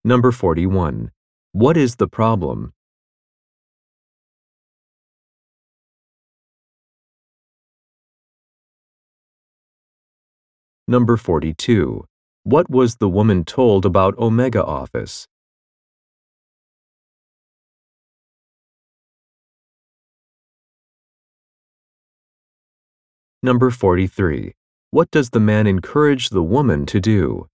Number 41. What is the problem? Number 42. What was the woman told about Omega Office? Number 43. What does the man encourage the woman to do?